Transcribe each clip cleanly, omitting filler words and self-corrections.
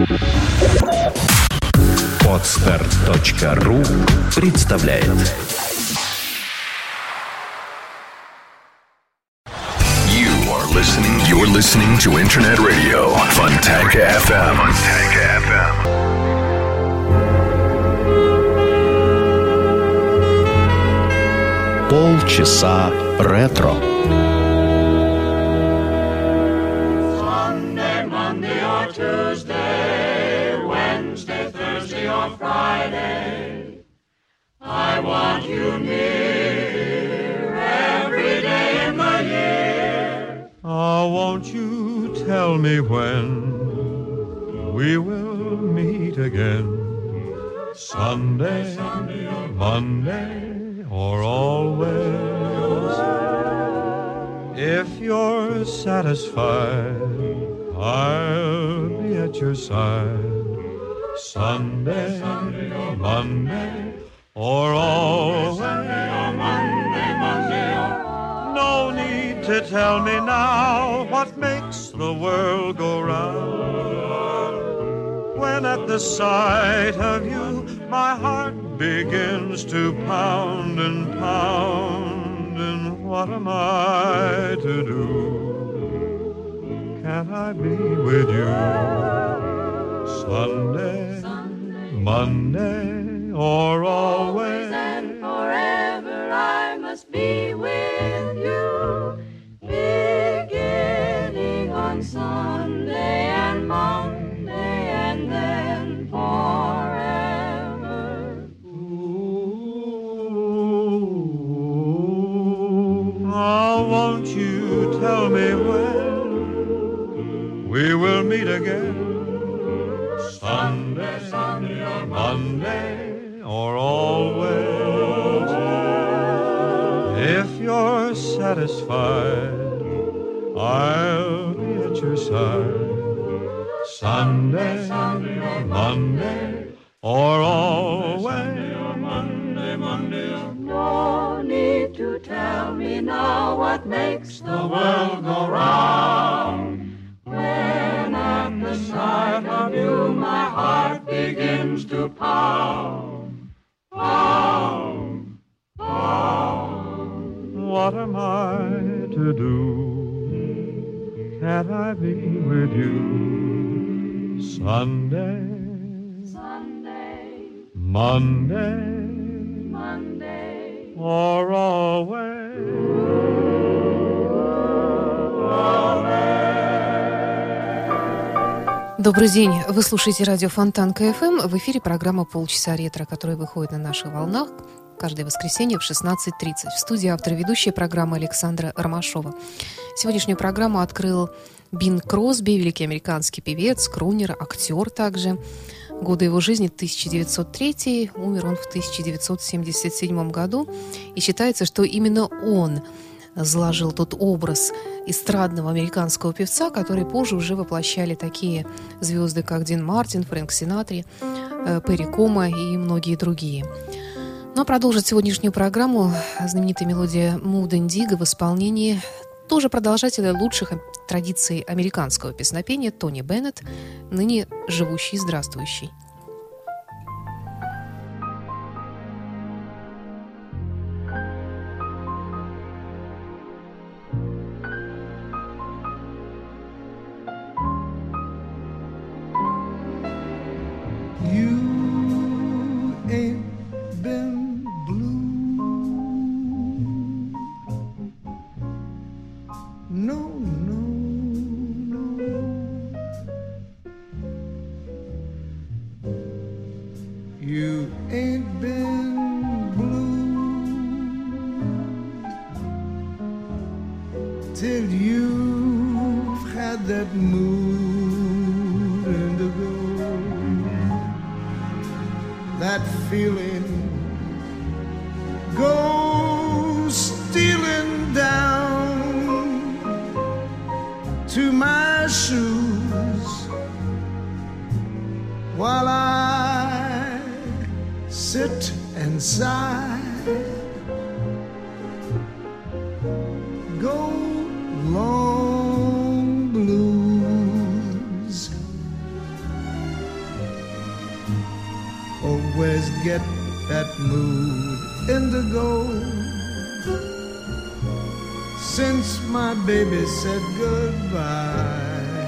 Podster.ru представляет. You're listening to Internet Radio Fontanka FM. Полчаса ретро. Sunday, Monday or Tuesday, Wednesday, Thursday or Friday, I want you near every day in the year. Oh, won't you tell me when we will meet again? Sunday, Monday, or always. If you're satisfied, I'll be at your side. Sunday, Monday, or always. No need to tell me now what makes the world go round. When at the sight of you, my heart begins to pound and pound. And what am I to do? Can't I be with you? Sunday, Monday, or always. And forever I must be with you. Beginning on Sunday and Monday and then forever. Oh, won't you tell me when we will meet again? Sunday, Monday, or always. If you're satisfied, I'll be at your side. Sunday, Monday, or always. No need to tell me now what makes the world go round. When at the sight of you my heart begins to pound, pound, pound. What am I to do? Can't I be with you? Sunday, Sunday, Monday, Monday, or always. Добрый день. Вы слушаете радио Фонтанка ФМ. В эфире программа «Полчаса ретро», которая выходит на наших волнах каждое воскресенье в 16:30. В студии автор и ведущая программы Александра Ромашова. Сегодняшнюю программу открыл Бинг Кросби, великий американский певец, крунер, актер также. Годы его жизни 1903, умер он в 1977 году. И считается, что именно он заложил тот образ эстрадного американского певца, который позже уже воплощали такие звезды, как Дин Мартин, Фрэнк Синатра, Перри Комо и многие другие. Ну а продолжит сегодняшнюю программу знаменитая мелодия «Move the Indigo» в исполнении тоже продолжателя лучших традиций американского песнопения Тони Беннет, ныне живущий и здравствующий. always get that mood indigo. Since my baby said goodbye,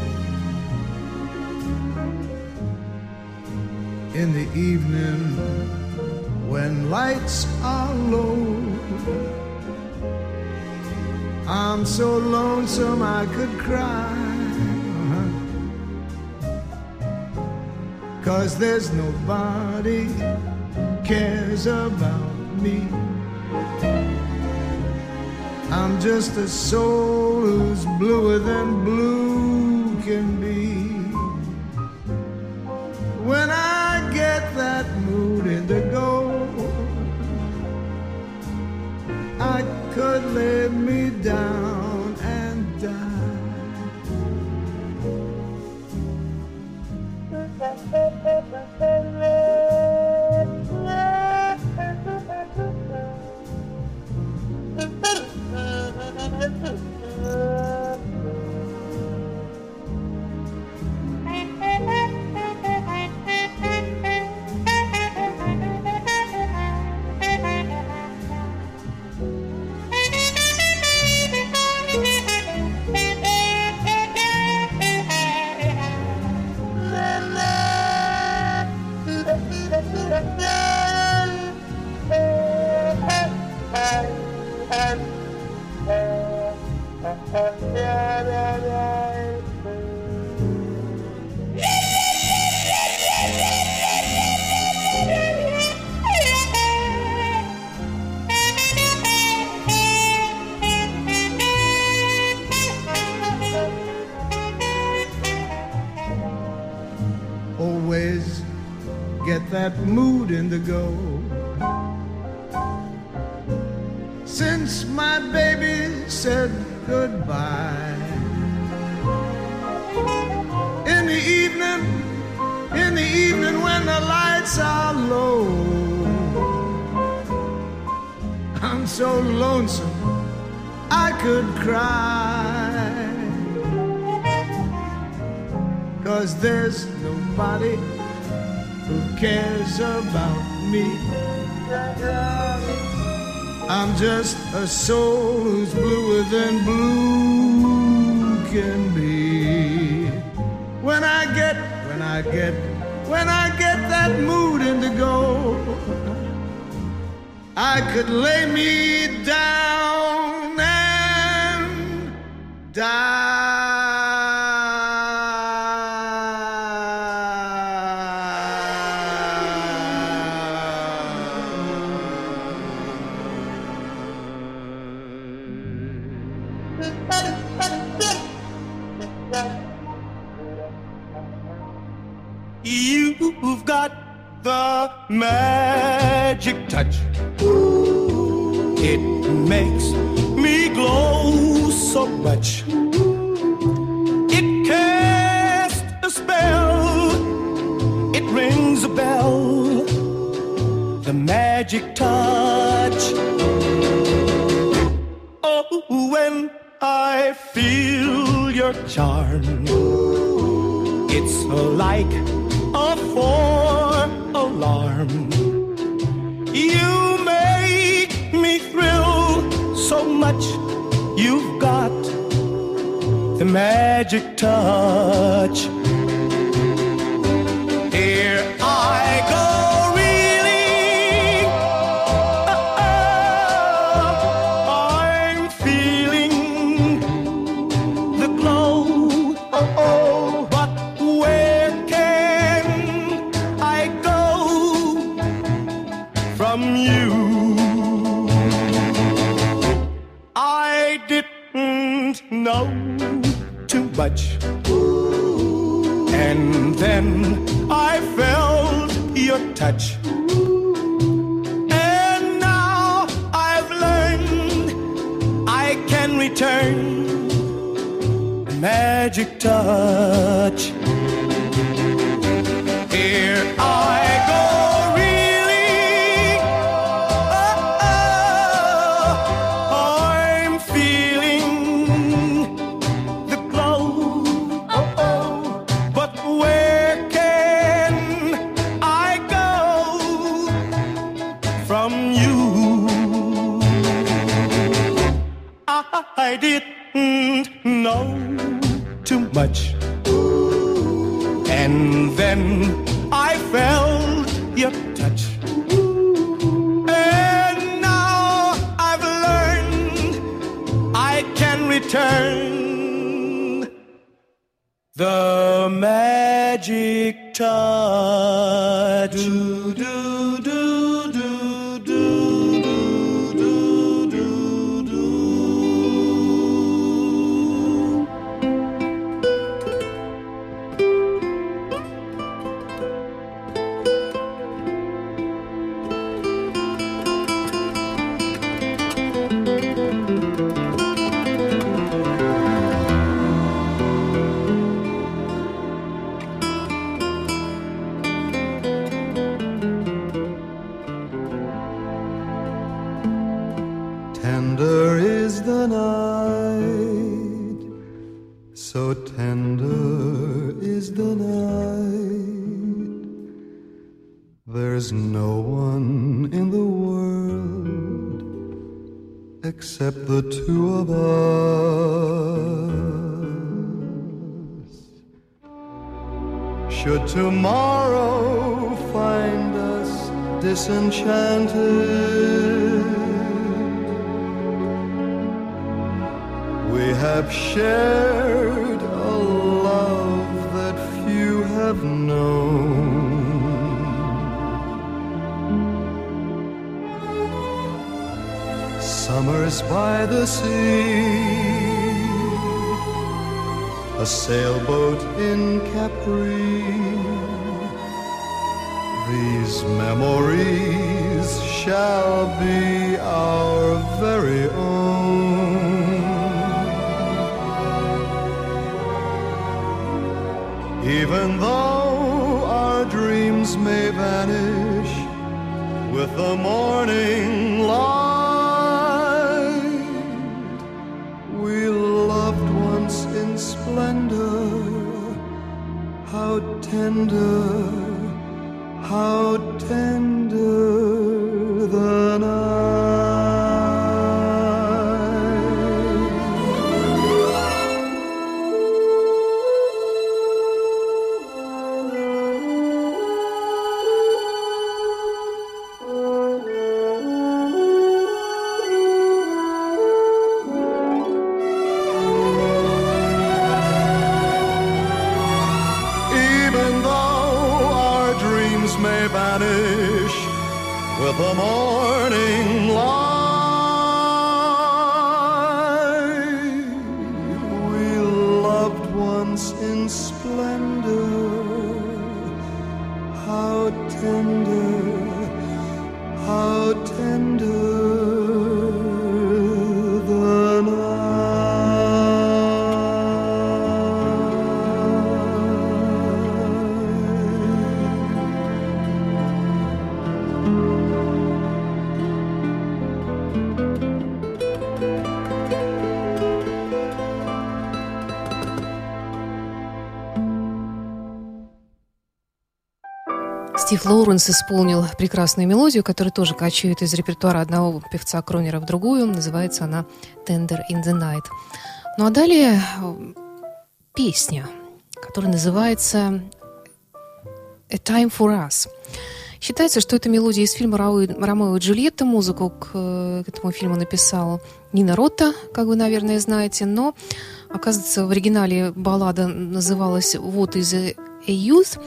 in the evening when lights are low, I'm so lonesome I could cry, 'cause there's nobody cares about me. I'm just a soul who's bluer than blue can be. When I get that mood indigo, I could lay me down and die. Always get that mood indigo. Since my baby said goodbye, in the evening when the lights are low, I'm so lonesome I could cry, 'cause there's nobody who cares about me. I'm just a soul who's bluer than blue can be. When I get that mood indigo, I could lay me down and die. You've got the magic touch. It makes me glow so much. It casts a spell. It rings a bell. The magic touch. Oh, when I feel your charm, it's like a four-alarm. You make me thrill so much. You've got the magic touch. Here I go, reeling. I'm feeling the glow. But where can I go from you? I didn't know too much, and then I felt your touch, and now I've learned I can return the magic touch. Here I go, reeling. I'm feeling the glow. But where can I go I didn't know too much. And then I felt your touch. And now I've learned I can return the magic touch. Do, do, do, do, do, do, do, do. Tender is the night, so tender is the night. There's no one in the world except the two of us. Should tomorrow find us disenchanted, we have shared a love that few have known. Summers by the sea, a sailboat in Capri. These memories shall be our very own. Even though our dreams may vanish with the morning light, we loved once in splendor. How tender, how tender the night. With the morning light, we loved once in splendor. How tender, how tender the night. Стив Лоуренс исполнил прекрасную мелодию, которая тоже кочует из репертуара одного певца Кронера в другую. Называется она «Tender in the Night». Ну а далее песня, которая называется «A Time for Us». Считается, что это мелодия из фильма «Ромео и Джульетта». Музыку к этому фильму написала Нина Ротта, как вы, наверное, знаете. Но, оказывается, в оригинале баллада называлась «What is a Youth».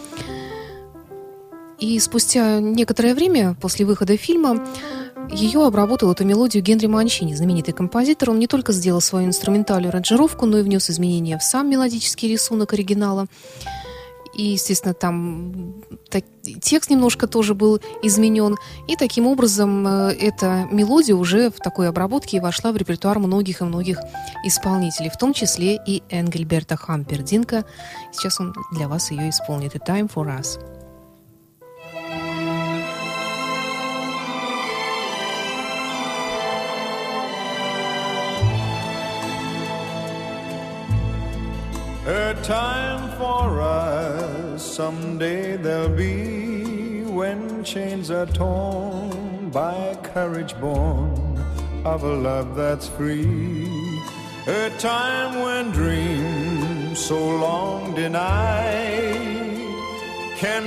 И спустя некоторое время после выхода фильма ее обработал, эту мелодию, Генри Манчини, знаменитый композитор. Он не только сделал свою инструментальную аранжировку, но и внес изменения в сам мелодический рисунок оригинала. И, естественно, там текст немножко тоже был изменен. И таким образом эта мелодия уже в такой обработке вошла в репертуар многих и многих исполнителей, в том числе и Энгельберта Хампердинка. Сейчас он для вас ее исполнит. «A Time for Us». A time for us, someday there'll be, when chains are torn by courage born of a love that's free. a time when dreams so long denied can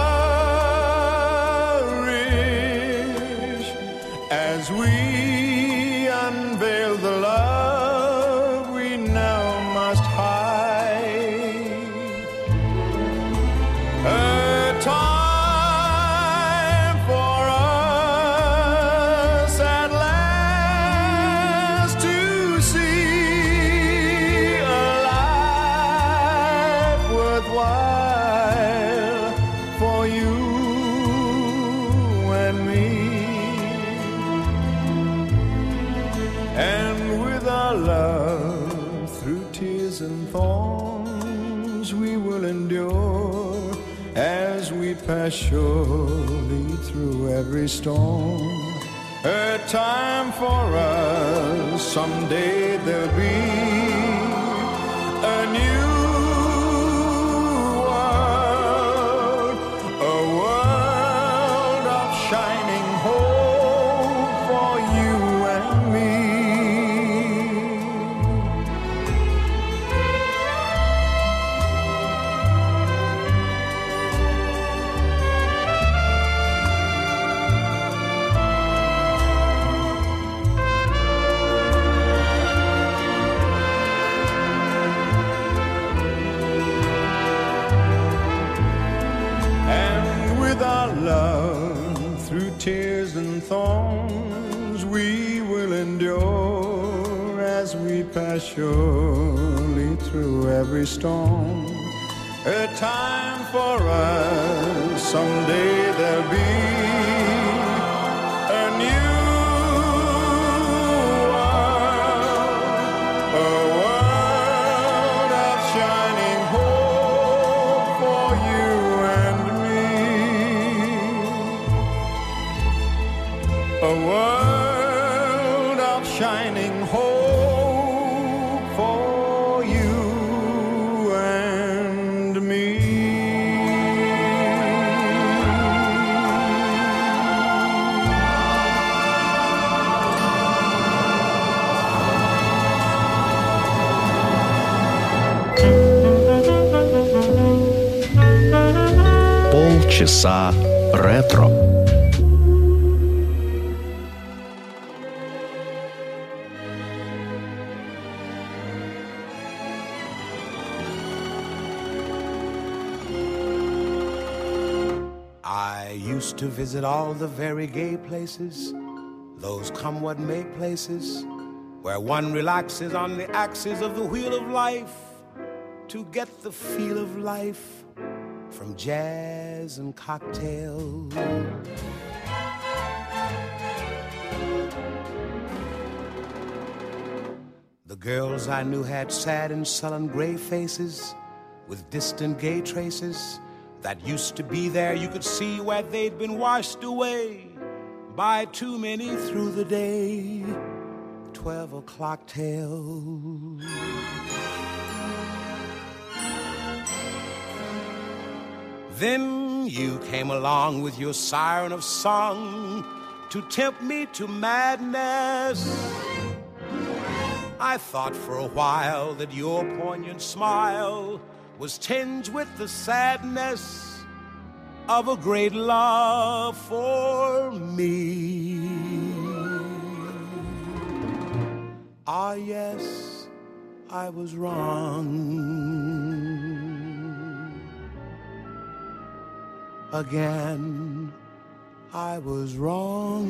flourish as we unveil the love we now must hide. A time for us at last to see a life worthwhile for you and me. And with our love through tears and thorns we will endure as we pass surely through every storm. A time for us, someday there'll be a new world, a world of shining hope for you and me. Love through tears and thorns we will endure as we pass surely through every storm. A time for us, someday there'll be a new world, a world of shining hope for you and me. A world of shining hope for you and me. Полчаса ретро. To visit all the very gay places, those come what may places, where one relaxes on the axis of the wheel of life to get the feel of life from jazz and cocktails. The girls I knew had sad and sullen gray faces with distant gay traces that used to be there. You could see where they'd been washed away by too many through the day 12 o'clock tales. Then you came along with your siren of song to tempt me to madness. I thought for a while that your poignant smile was tinged with the sadness of a great love for me. Ah, yes, I was wrong. Again, I was wrong.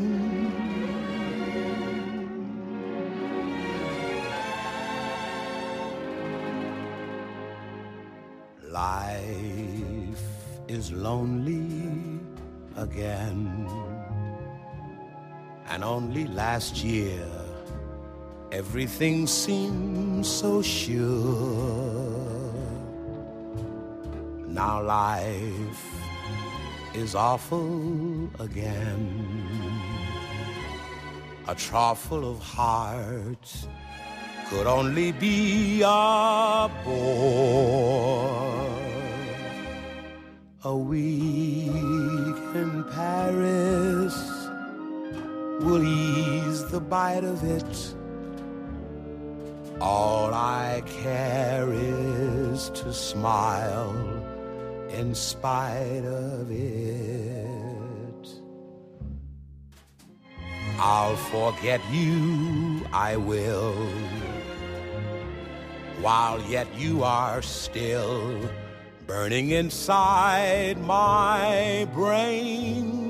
Life is lonely again, and only last year everything seemed so sure. Now life is awful again, a trough full of hearts could only be a bore. A week in Paris will ease the bite of it. All I care is to smile in spite of it. I'll forget you, I will, while yet you are still burning inside my brain.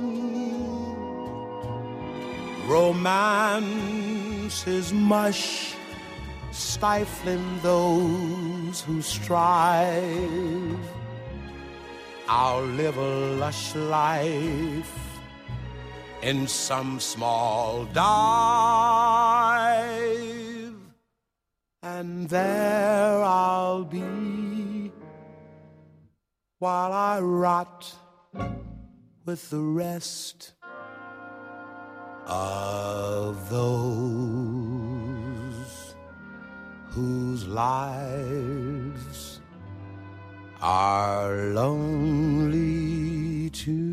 Romance is mush, stifling those who strive. I'll live a lush life in some small dive, and there I'll be while I rot with the rest of those whose lives are lonely too.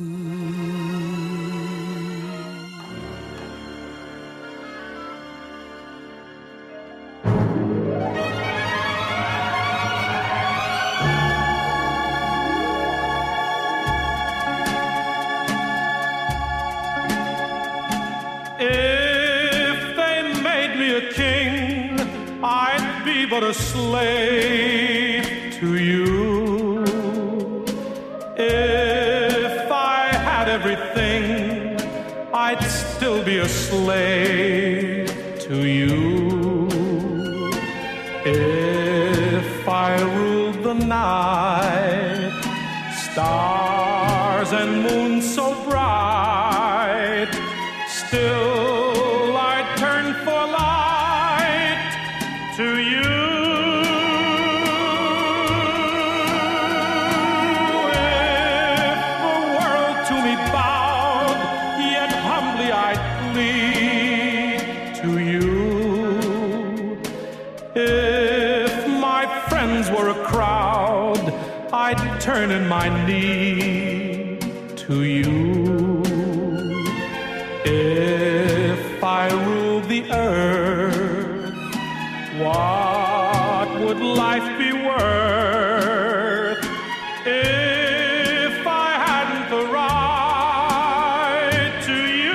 But a slave to you. If I had everything, I'd still be a slave to you. If I ruled the night, stars and moon so bright, still I'd turn for light to you. I'd turn in my knee to you. If I ruled the earth, what would life be worth if I hadn't the right to you?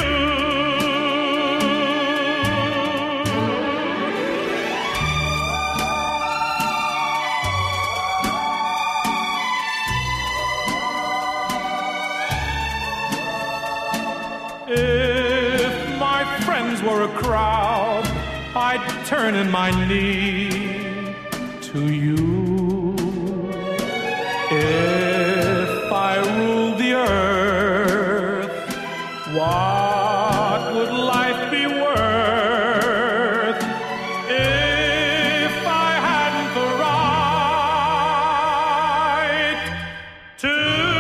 If my friends were a crowd, I'd turn in my knee to you. If I ruled the earth, what would life be worth if I hadn't the right to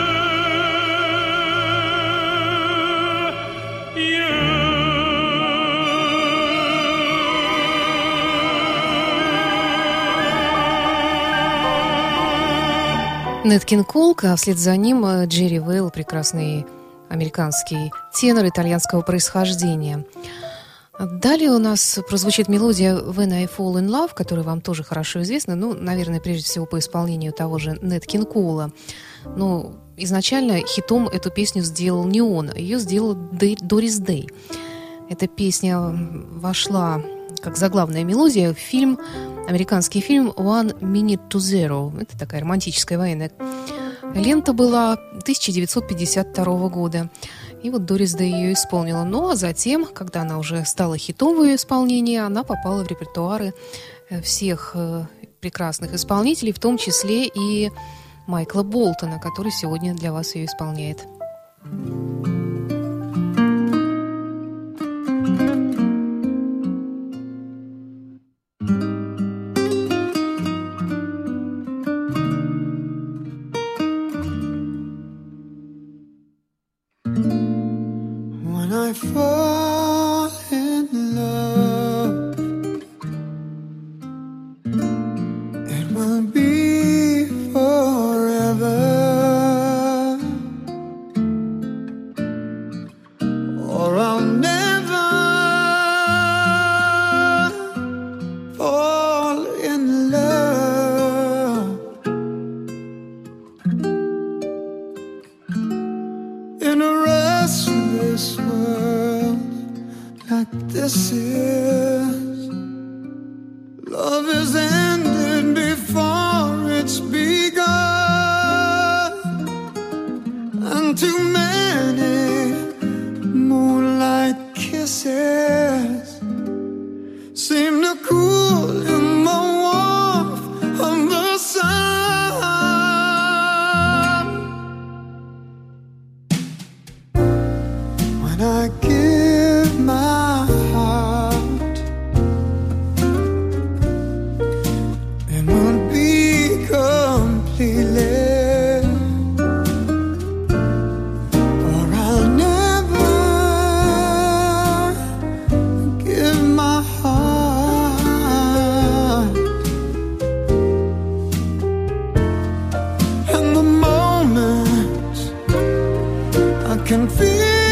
Нэт Кинг Кол, а вслед за ним Джерри Вейл, прекрасный американский тенор итальянского происхождения. Далее у нас прозвучит мелодия «When I Fall in Love», которая вам тоже хорошо известна, наверное, прежде всего по исполнению того же Нэт Кинг Кола. Но изначально хитом эту песню сделал не он, а ее сделала Дорис Дэй. Эта песня вошла как заглавная мелодия в фильм, американский фильм «One Minute to Zero». Это такая романтическая военная лента была 1952 года. И вот Дорис Дэй ее исполнила. Ну, а затем, когда она уже стала хитом в ее исполнении, она попала в репертуары всех прекрасных исполнителей, в том числе и Майкла Болтона, который сегодня для вас ее исполняет. I fall in love, it will be forever, or I'll never fall. mess this world like this is. Love is ended before it's begun, and too many moonlight kisses seem to cool in the warmth of the sun. When I give my heart, it won't be completely, or I'll never give my heart. And the moment I can feel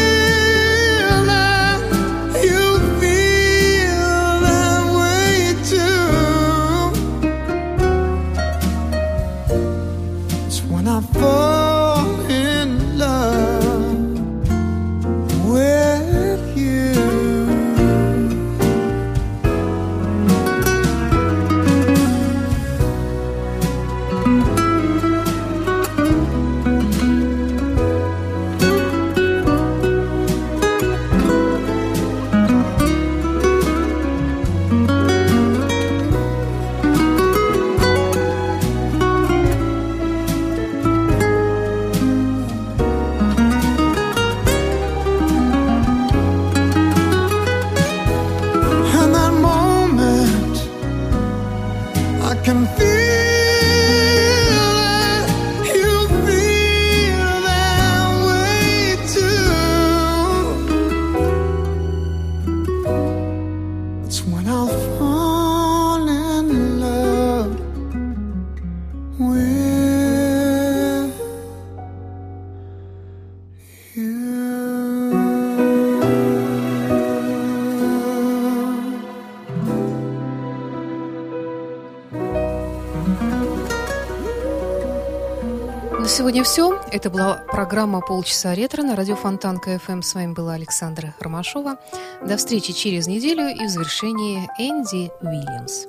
Сегодня все. Это была программа «Полчаса ретро» на радио Фонтанка ФМ. С вами была Александра Ромашова. До встречи через неделю и в завершении Энди Уильямс.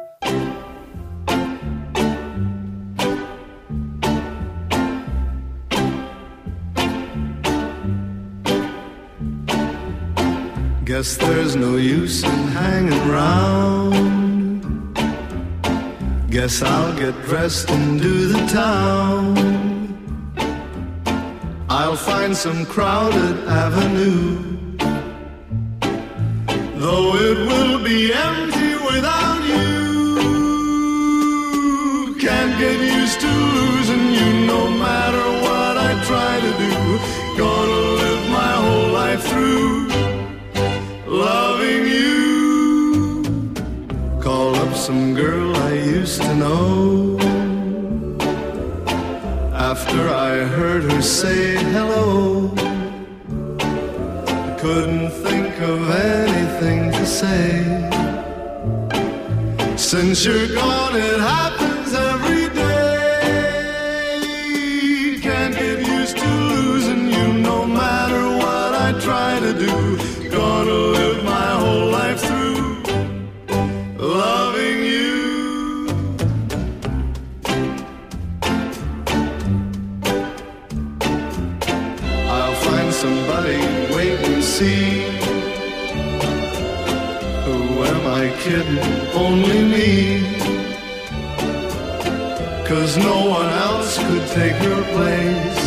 Guess there's no use in hanging round. Guess I'll get dressed and do the town. I'll find some crowded avenue, though it will be empty without you. Can't get used to losing you no matter what I try to do. Gonna live my whole life through loving you. Call up some girl I used to know. After I heard her say hello, I couldn't think of anything to say. Since you're gone, it happens every day. Can't get used to losing you no matter what I try to do. Gonna live my whole life through loving you. Somebody wait and see. Who am I kidding? Only me. 'Cause no one else could take your place.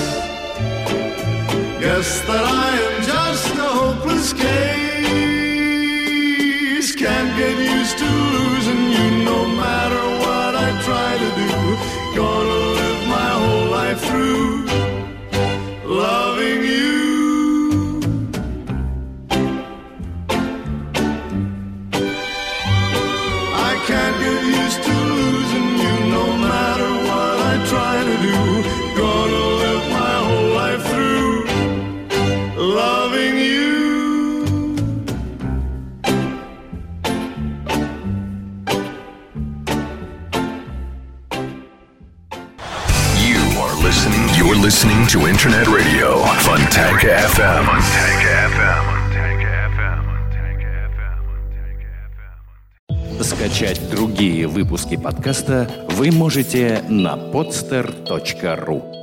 Guess that I am just a hopeless case. Can't get used to losing you no matter what I try to do. Gonna live my whole life through loving you. Can't get used to losing you no matter what I try to do. Gonna live my whole life through You're listening to Internet Radio Fontanka FM. Скачать другие выпуски подкаста вы можете на podster.ru.